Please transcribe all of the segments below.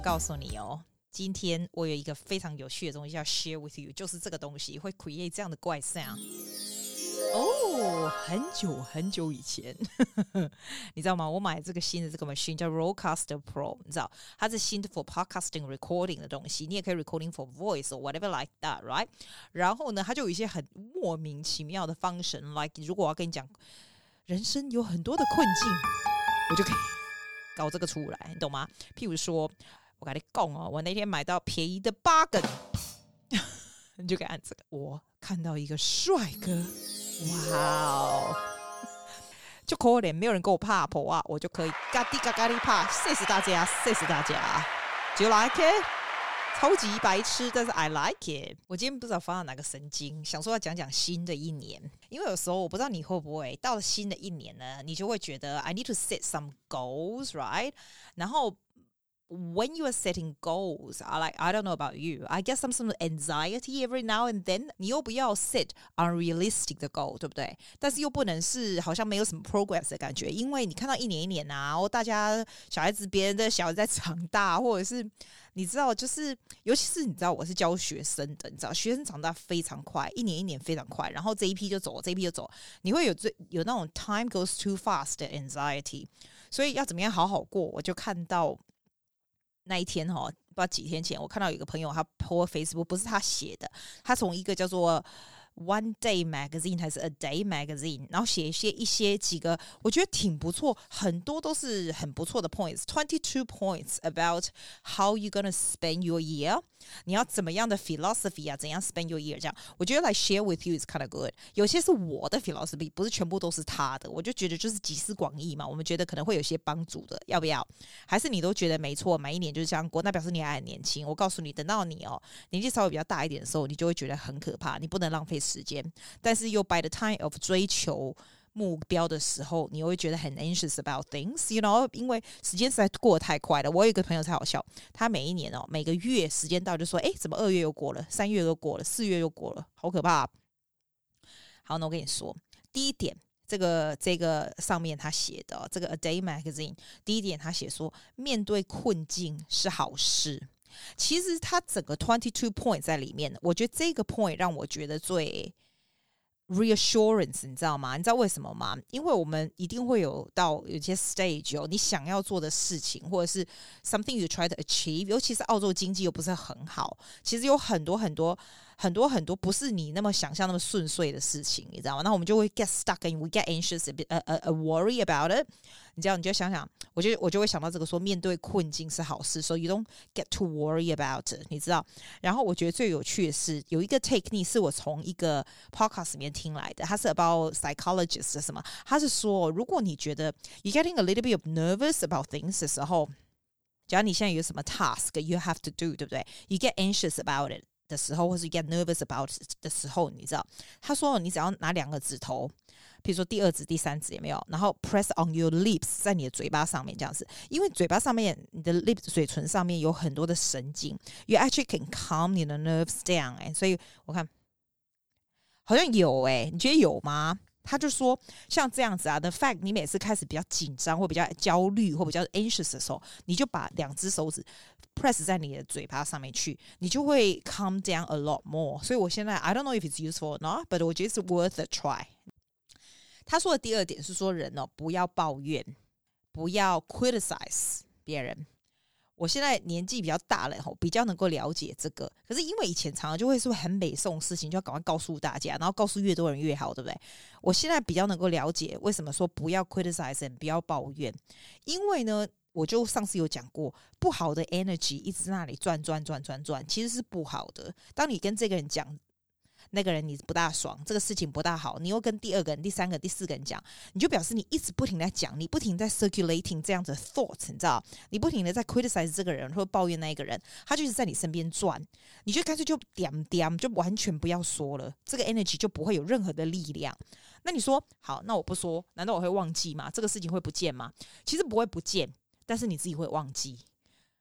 告訴你哦，今天我有一個非常有趣的東西要 share with you， 就是這個東西會 create 這樣的怪 sound。哦，很久以前，你知道嗎？我買這個新的這個 machine 叫 Rodecaster Pro， 你知道，它是新的 for podcasting recording 的東西，你也可以 recording for voice or whatever like that, right？ 然後呢，它就有一些很莫名其妙的 function，like 如果我要跟你講，人生有很多的困境，我就可以搞這個出來，你懂嗎？譬如說，我跟你講哦，我那天買到便宜的8根，你就可以按這個。我看到一個帥哥。哇哦，就可憐，沒有人給我拍婆啊，我就可以嘎滴嘎嘎滴拍，謝謝大家，謝謝大家。Do you like it？ 超級白痴，但是 I like it。我今天不知道發到哪個神經，想說要講講新的一年，因為有時候我不知道你會不會到了新的一年呢，你就會覺得 I need to set some goals, right？ 然後when you are setting goals, I don't know about you, I get some anxiety every now and then. 你又不要 set unrealistic 的 goal, 對不對？但是又不能是好像沒有什麼 progress 的感覺，因為你看到一年一年啊，然後大家小孩子別人的小孩在長大，或者是你知道，就是尤其是你知道我是教學生的，你知道學生長大非常快，一年一年非常快，然後這一批就走，這一批就走，你會有那種 time goes too fast 的 anxiety。所以要怎麼樣好好過，我就看到。那一天不知道幾天前，我看到有一個朋友他 po Facebook， 不是他寫的，他從一個叫做 One Day Magazine 還是 A Day Magazine， 然後寫一些幾個我覺得挺不錯，很多都是很不錯的 points， 22 points about how you gonna spend your year， 你要怎麼樣的 philosophy 啊，怎樣 spend your year， 這樣我覺得 like share with you is kind of good。 有些是我的 philosophy， 不是全部都是他的，我就覺得就是集思廣益嘛，我們覺得可能會有些幫助的，要不要？還是你都覺得沒錯，每一年就是這樣過，那表示你還很年輕。我告訴你，等到你年紀稍微比較大一點的時候，你就會覺得很可怕，你不能浪費時間，但是又 by the time of 追求目標的時候，你又會覺得很 anxious about things, you know， 因為時間實在過得太快了。我有一個朋友才好笑，他每一年每個月時間到就說，怎麼2月又過了，3月又過了，4月又過了，好可怕。好，那我跟你說，第一點，這個上面他寫的這個 A Day Magazine， 第一點他寫說，面對困境是好事。其實他整個22 point 在裡面，我覺得這個 point 讓我覺得最 reassurance， 你知道嗎？你知道為什麼嗎？因為我們一定會有些 stage 你想要做的事情，或者是 something you try to achieve， 尤其是澳洲經濟又不是很好，其實有很多不是你那麼想象那麼順遂的事情，你知道嗎？那我們就會 get stuck and we get anxious, worry about it。你知道，你就想想，我就會想到这個說，面對困境是好事， so you don't get to worry about it， 你知道。然後我覺得最有趣的是有一個 technique 是我從一個 podcast 裡面聽來的，它是 about psychologist 的什麼，他是說，如果你覺得 you're getting a little bit of nervous about things 的時候，假如你現在有什麼 task you have to do， 對不對？ You get anxious about it的時候，或是 get nervous about it 的時候，你知道，他說你只要拿2個指頭，比如說第2指、第3指，有沒有？然後 press on your lips， 在你的嘴巴上面這樣子，因為嘴巴上面，你的 lips 嘴唇上面有很多的神經 ，you actually can calm your nerves down。所以我看好像有你覺得有嗎？他就說像這樣子啊 ，the fact 你每次開始比較緊張或比較焦慮或比較 anxious 的時候，你就把2隻手指 press 在你的嘴巴上面去，你就會 calm down a lot more。所以我現在 I don't know if it's useful or not, but 我覺得是 worth a try。他說的第2點是說人不要抱怨，不要 criticize 別人。我現在年紀比較大了，比較能夠了解這個。可是因為以前常常就會是很美頌事情，就要趕快告訴大家，然後告訴越多人越好，對不對？我現在比較能夠了解為什麼說不要 criticize， 不要抱怨。因為呢，我就上次有講過，不好的 energy 一直在那裡轉，其實是不好的。當你跟這個人講，那個人你不大爽，這個事情不大好，你又跟第2個人、第3個、第4個人講，你就表示你一直不停在講，你不停在 circulating 這樣子的 thoughts， 你知道，你不停的在 criticize 這個人或抱怨那一個人，他就一直在你身邊轉，你就乾脆就點，就完全不要說了，這個 energy 就不會有任何的力量。那你說好，那我不說，難道我會忘記嗎？這個事情會不見嗎？其實不會不見，但是你自己會忘記。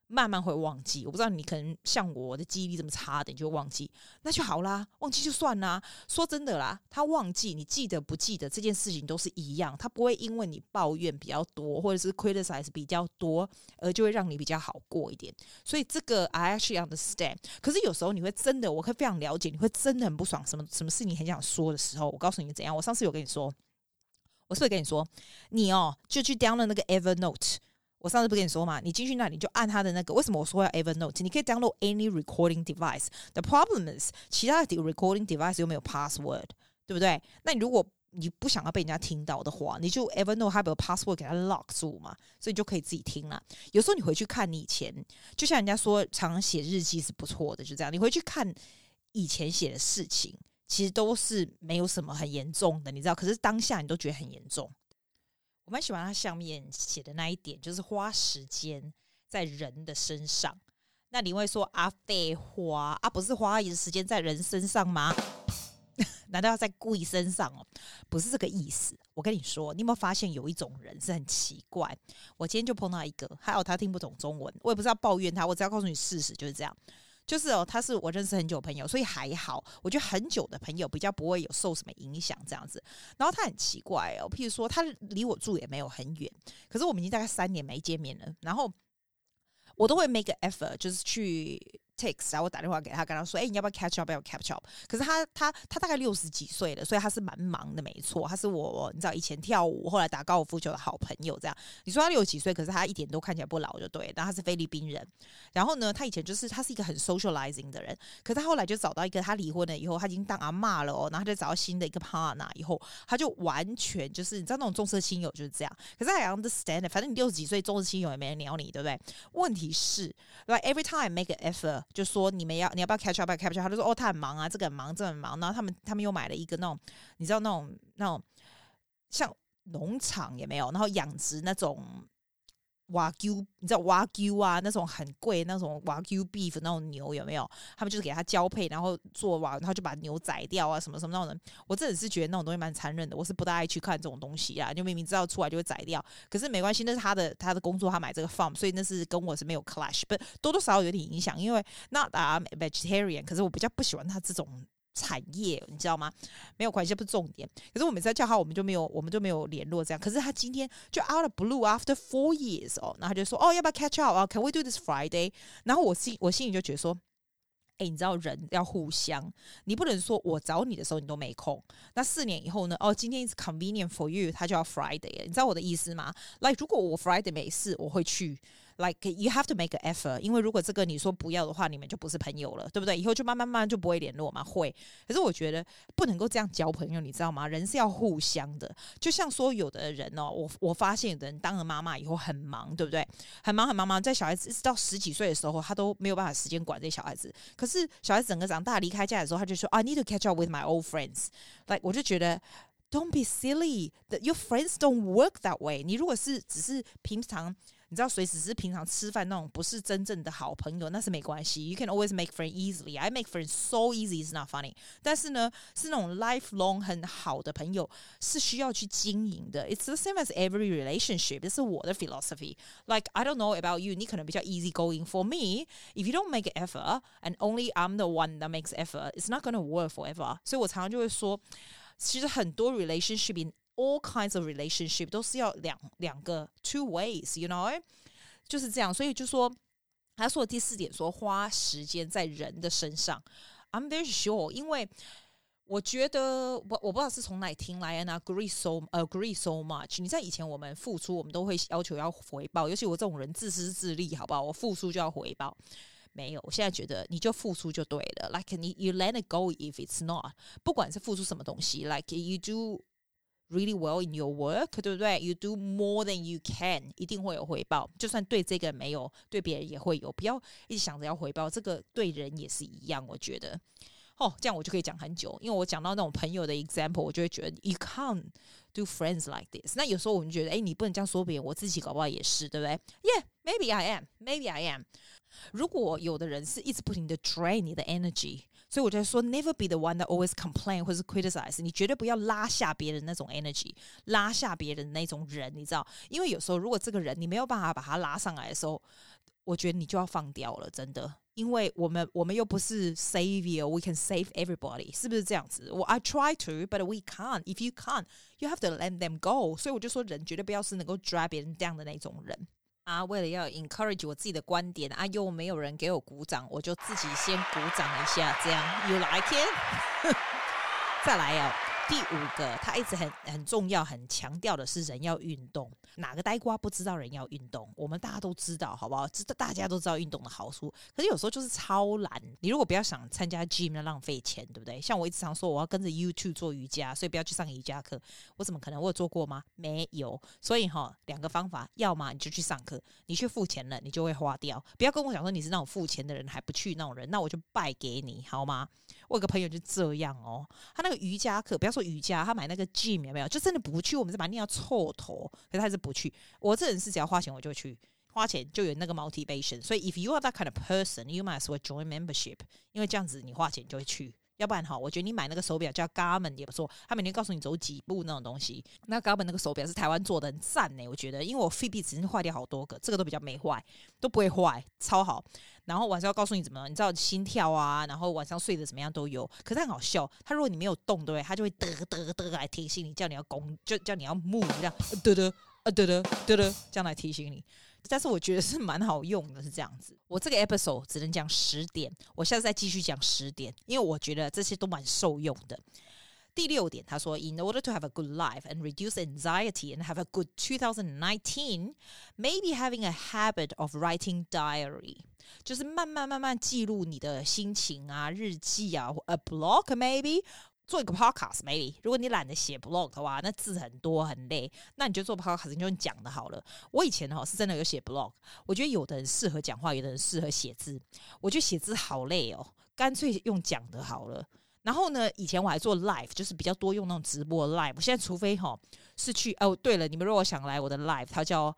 慢慢會忘記。我不知道你可能像我的記憶力這麼差的，你就會忘記，那就好啦，忘記就算啦。說真的啦，他忘記你記得不記得這件事情都是一樣，他不會因為你抱怨比較多或者是 criticize 比較多而就會讓你比較好過一點。所以這個 I actually understand。可是有時候你會真的，我可以非常了解，你會真的很不爽，什麼事你很想說的時候，我告訴你怎樣。我上次有跟你說，我是不是跟你說，你就去 download 那個 Evernote。我上次不跟你說嘛，你進去那裡就按他的那個。為什麼我說要 Evernote？ 你可以 download any recording device。The problem is， 其他的 recording device 又沒有 password， 對不對？那你如果你不想要被人家聽到的話，你就 Evernote 它有 password 給它 lock 住嘛，所以你就可以自己聽了。有時候你回去看你以前，就像人家說，常常寫日記是不錯的，就這樣。你回去看以前寫的事情，其實都是沒有什麼很嚴重的，你知道？可是當下你都覺得很嚴重。我蠻喜歡他下面寫的那一點，就是花時間在人的身上。那你會說啊，廢話啊，不是花時間在人身上嗎？難道要在故意身上哦？不是這個意思。我跟你說，你有沒有發現有一種人是很奇怪？我今天就碰到一個，還好他聽不懂中文，我也不是要抱怨他，我只要告訴你事實就是這樣。就是他是我認識很久的朋友，所以還好。我覺得很久的朋友比較不會有受什麼影響這樣子。然後他很奇怪譬如說他離我住也沒有很遠，可是我們已經大概3年沒見面了。然後我都會 make an effort， 就是去 text， 然後我打電話給他，跟他說：“你要不要 catch up？ 要不要 catch up？” 可是他大概60幾歲了，所以他是蠻忙的，沒錯。他是我你知道以前跳舞，後來打高爾夫球的好朋友。這樣你說他60幾歲，可是他一點都看起來不老，就對。然後他是菲律賓人，然後呢，他以前他是一個很 socializing 的人，可是他後來就找到一個，他離婚了以後，他已經當阿嬷了然後他就找到新的一個 partner 以後，他就完全就是你知道那種重色輕友就是這樣。可是I understand， 反正你60幾歲重色輕友也沒人鳥你，對不對？問題是 ，like every time I make an effort。就說你要不要 catch up？ catch up， 他就說他很忙啊，這個很忙，這個很忙。然後他们又買了一個那種，你知道那種像農場也沒有，然後養殖那種瓦 Q， 你知道瓦 Q 啊，那種很貴那種瓦 Q beef 那種牛有沒有？他們就是給他交配，然後做瓦，然後就把牛宰掉啊，什麼什麼那種。我真的是覺得那種東西蠻殘忍的，我是不大愛去看這種東西啊。就明明知道出來就會宰掉，可是沒關係，那是他的工作，他買這個 farm， 所以那是跟我是沒有 clash， 不多多少少有點影響，因為 not that I'm vegetarian， 可是我比較不喜歡他這種產業，你知道嗎？沒有關係，這不是重點。可是我每次在叫他，我們就沒有聯絡這樣。可是他今天就 out of blue after 4 years 然後他就說要不要 catch up can we do this Friday？ 然後我心裡就覺得說，你知道人要互相，你不能說我找你的時候你都沒空。那4年以後呢？今天 is convenient for you， 他就要 Friday 了，你知道我的意思嗎？ Like 如果我 Friday 沒事，我會去。Like you have to make an effort， 因為如果這個你說不要的話，你們就不是朋友了，對不對？以後就慢慢就不會聯絡嘛。會，可是我覺得不能夠這樣交朋友，你知道嗎？人是要互相的。就像說有的人我發現有的人當了媽媽以後很忙，對不對？很忙，在小孩子一直到10幾歲的時候，他都沒有辦法時間管這些小孩子。可是小孩子整個長大離開家的時候，他就說I need to catch up with my old friends。Like 我就覺得。Don't be silly. Your friends don't work that way. 你如果只是平常，你知道，隨時是平常吃飯那種，不是真正的好朋友，那是沒關係。You can always make friends easily. I make friends so easy, it's not funny. 但是呢，是那種 lifelong 很好的朋友，是需要去經營的。It's the same as every relationship. 這是我的 philosophy. Like I don't know about you. 你可能比較 easy going. For me, if you don't make an effort, and only I'm the one that makes effort, it's not going to work forever. 所以我常常就會說。其實很多 relationship in all kinds of relationship 都是要兩個 two ways, you know， 就是這樣。所以就說他說的第4點說花時間在人的身上 ，I'm very sure， 因為我覺得我不知道是從哪裡聽來 ，and agree so much。你在以前我們付出，我們都會要求要回報，尤其我這種人自私自利，好不好？我付出就要回報。沒有，我現在覺得你就付出就對了。Like you let it go if it's not。不管是付出什麼東西 ，like you do really well in your work， 對不對 ？You do more than you can， 一定會有回報。就算對這個沒有，對別人也會有。不要一直想着要回報，這個對人也是一樣。我覺得，這樣我就可以講很久，因為我講到那種朋友的 example， 我就會覺得 you can't do friends like this。那有時候我們覺得，你不能這樣說別人，我自己搞不好也是，對不對 ？Yeah，maybe I am。如果有的人是一直不停的 drain 你的 energy， 所以我就說 never be the one that always complain 或是 criticize， 你絕對不要拉下別人那種 energy， 拉下別人那種人，你知道？因為有時候如果這個人你沒有辦法把他拉上來的時候， 我覺得你就要放掉了，真的。因為我們又不是 savior, we can save everybody， 是不是這樣子？I try to, but we can't. If you can't, you have to let them go. 所以我就說，人絕對不要是能夠 drag 別人down的那種人啊。為了要 encourage 我自己的觀點啊，又沒有人給我鼓掌，我就自己先鼓掌一下，這樣 You like it？ 再來啊。第5個，他一直很重要、很強調的是人要運動。哪個呆瓜不知道人要運動？我們大家都知道，好不好？大家都知道運動的好處。可是有時候就是超懶。你如果不要想參加 gym， 那浪費錢，對不對？像我一直常說，我要跟着 YouTube 做瑜伽，所以不要去上瑜伽課。我怎麼可能？我有做過嗎？沒有。所以2個方法，要麼你就去上課，你去付錢了，你就會花掉。不要跟我講說你是那種付錢的人還不去那種人，那我就敗給你，好嗎？我有個朋友就這樣哦，他那個瑜伽課，不要說瑜伽，他買那個 gym 有沒有？就真的不去，我們是把他念到臭頭，可是他還是不去。我這人是只要花錢我就去，花錢就有那個 motivation。所以 if you are that kind of person, you might as well join membership， 因為這樣子你花錢就會去。要不然我覺得你買那個手錶叫 Garmin 也不錯，他每天告訴你走幾步那種東西。那 Garmin 那個手錶是台灣做的，很讚呢，我覺得。因為我 Fitbit 只是壞掉好多個，這個都比較沒壞，都不會壞，超好。然後晚上要告訴你怎麼，你知道心跳啊，然後晚上睡得怎麼樣都有。可是很好笑，他如果你沒有動，對不对？他就會嘚來提醒你，叫你要攻，就叫你要 move 這樣，嘚這樣來提醒你。但是我覺得是蠻好用的，是這樣子。我這個 episode 只能講10點，我下次再繼續講10點，因為我覺得這些都蠻受用的。第6點，他說 In order to have a good life and reduce anxiety and have a good 2019, maybe having a habit of writing diary， 就是慢慢記錄你的心情啊，日記啊 ，a blog maybe。做一個 podcast maybe， 如果你懶得寫 blog 的話，那字很多很累，那你就做 podcast， 你就用講的好了。我以前是真的有寫 blog， 我覺得有的人適合講話，有的人適合寫字。我覺得寫字好累哦，乾脆用講的好了。然後呢，以前我還做 live， 就是比較多用那種直播 live。現在除非是去對了，你們如果想來我的 live， 它叫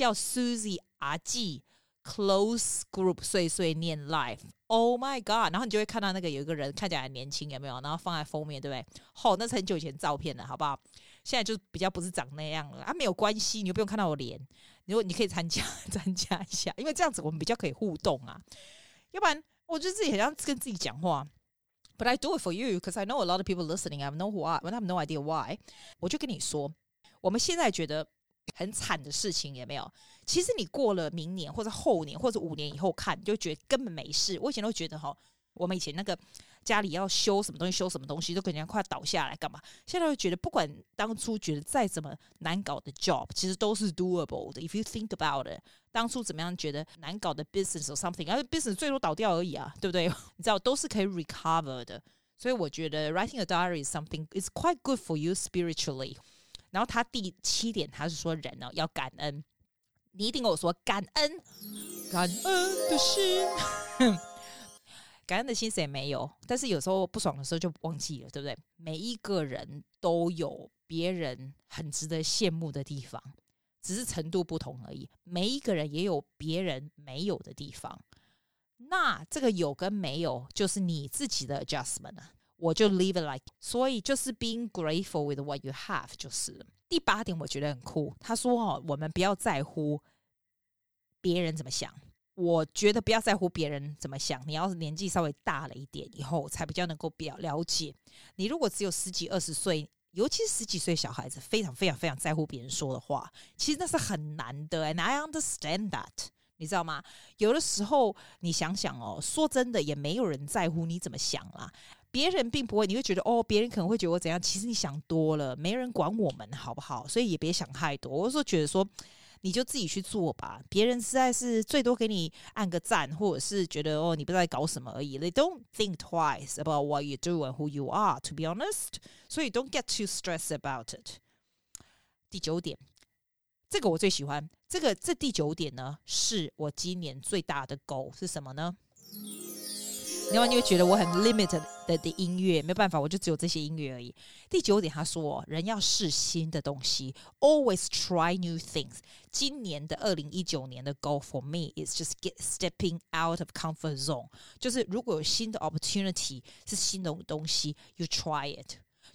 Susie 阿季 Close Group 碎碎念 Live。Oh my god！ 然後你就會看到那個有一個人看起來很年輕，有沒有？然後放在封面，對不對？那是很久以前照片了，好不好？現在就比較不是長那樣了啊，沒有關係，你又不用看到我臉，你可以參加一下，因為這樣子我們比較可以互動啊。要不然我覺得自己很像跟自己講話。But I do it for you because I know a lot of people listening. I have no idea why. 我就跟你說，我們現在覺得很慘的事情有沒有？其實你過了明年或者後年或者5年以後看，你就覺得根本沒事。我以前都覺得我們以前那個家裡要修什麼東西都跟人家快倒下來幹嘛？現在會覺得不管當初覺得再怎麼難搞的 job， 其實都是 doable 的。If you think about it， 當初怎麼樣覺得難搞的 business or something， 而 business 最多倒掉而已啊，對不對？你知道都是可以 recover 的。所以我覺得 writing a diary is something is quite good for you spiritually。然後他第7點，他是說人要感恩。你一定跟我說感恩的心，感恩的心誰沒有？但是有時候不爽的時候就忘記了，對不對？每一個人都有別人很值得羨慕的地方，只是程度不同而已。每一個人也有別人沒有的地方，那這個有跟沒有就是你自己的 adjustment 啊。我就 leave it like， 所以就是 being grateful with what you have 就是了。第8點我覺得很酷，他說我們不要在乎別人怎麼想。我覺得不要在乎別人怎麼想，你要是年紀稍微大了一點以後才比較能夠比較了解。你如果只有10幾20歲，尤其是10幾歲小孩子非常非常非常在乎別人說的話，其實那是很難的。And I understand that， 你知道嗎？有的時候你想想說真的也沒有人在乎你怎麼想啦。別人並不會，你會覺得別人可能會覺得我怎樣，其實你想多了，沒人管我們好不好？所以也別想太多。我說覺得說你就自己去做吧，別人實在是最多給你按個讚，或者是覺得你不知道在搞什麼而已。They don't think twice about what you do and who you are, to be honest. 所以 don't get too stressed about it. 第9點，這個我最喜歡。這第9點呢，是我今年最大的 goal 是什麼呢？另外你會覺得我很 limited 的音樂，沒辦法，我就只有這些音樂而已。第9點他說人要試新的東西 always try new things。 今年的2019年的 goal for me is just stepping out of comfort zone， 就是如果有新的 opportunity 是新的東西 you try it，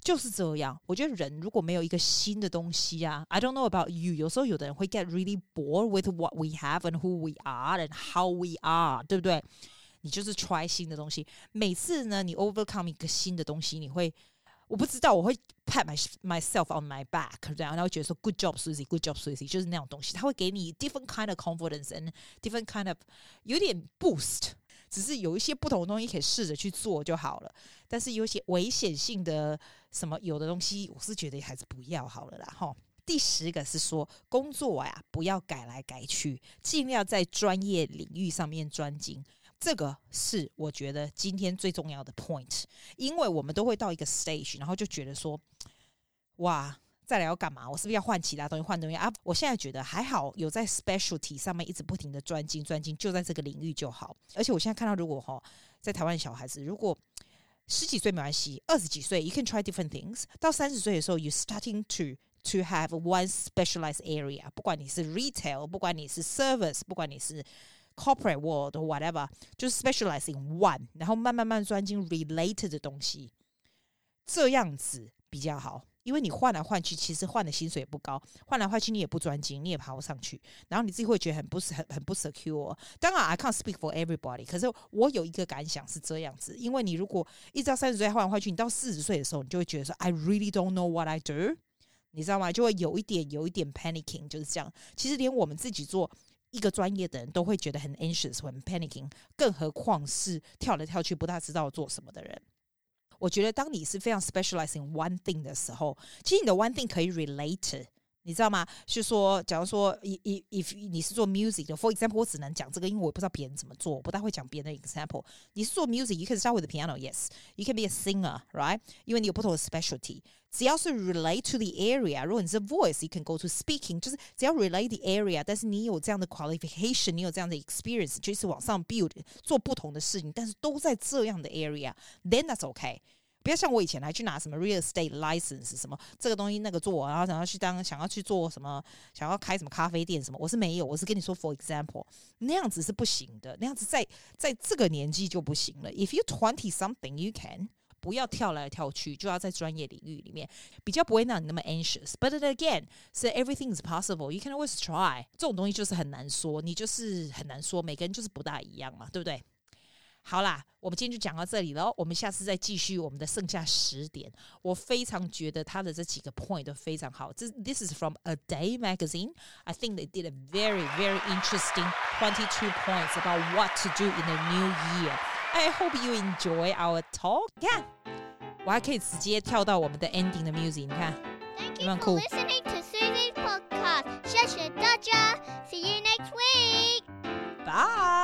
就是這樣。我覺得人如果沒有一個新的東西啊 I don't know about you， 有時候有的人會 get really bored with what we have and who we are and how we are， 對不對？你就是 try 新的東西，每次呢你 overcome 一個新的東西，你會我不知道，我會 pat myself on my back 這樣，然後覺得說 good job Susie good job Susie， 就是那種東西，它會給你 different kind of confidence and different kind of 有點 boost， 只是有一些不同的東西可以試着去做就好了，但是有一些危險性的什麼有的東西，我是覺得還是不要好了啦齁。第10個是說工作呀，不要改來改去，盡量在專業領域上面專精。這個是我覺得今天最重要的 point， 因為我們都會到一個 stage， 然後就覺得說，哇，再來要幹嘛？我是不是要換其他東西？換東西啊？我現在覺得還好，有在 specialty 上面一直不停的專精，就在這個領域就好。而且我現在看到，如果在台灣的小孩子，如果10幾歲沒關係，20幾歲 you can try different things， 到30歲的時候 you starting to have one specialized area， 不管你是 retail， 不管你是 service， 不管你是corporate world or whatever， 就是 specialize in one， 然後慢慢專精 related 的東西，這樣子比較好。因為你換來換去，其實換的薪水也不高，換來換去你也不專精，你也爬不上去，然後你自己會覺得很不 secure。當然 I can't speak for everybody， 可是我有一個感想是這樣子，因為你如果一直到30歲換來換去，你到40歲的時候，你就會覺得說 I really don't know what I do， 你知道嗎？就會有一點 panicking， 就是這樣。其實連我們自己做一個專業的人都會覺得很 anxious 很 panicking， 更何況是跳來跳去不大知道做什麼的人。我覺得當你是非常 specialize in one thing 的時候，其實你的 one thing 可以 relate， 你知道嗎？就是說假如說 if 你是做 music 的 for example， 我只能講這個，因為我不知道別人怎麼做，我不大會講別人的 example。你是做 music you can start with the piano， yes you can be a singer right， 因為你有不同的 specialty， 只要是 relate to the area， 如果你是 voice you can go to speaking， 就是只要 relate the area， 但是你有這樣的 qualification， 你有這樣的 experience， 就是往上 build 做不同的事情，但是都在這樣的 area then that's okay。不要像我以前還去拿什麼 real estate license 什麼這個東西那個做，然後想要去做什麼，想要開什麼咖啡店什麼，我是沒有，我是跟你說 for example， 那樣子是不行的，那樣子在這個年紀就不行了。If you 20 something you can， 不要跳來跳去，就要在專業領域裡面，比較不會讓你那麼 anxious。But again， so everything is possible. You can always try。這種東西就是很難說，你就是很難說，每個人就是不大一樣嘛，對不對？好啦，我們今天就講到這裡了，我們下次再繼續我們的剩下10點。我非常覺得他的這幾個 point 都非常好。This is from A Day magazine. I think they did a very, very interesting 22 points about what to do in the new year. I hope you enjoy our talk. 你看，我還可以直接跳到我們的 ending 的 music， 你看，有沒有酷？ Thank you for listening to Susie's podcast. 謝謝大家。See you next week. Bye.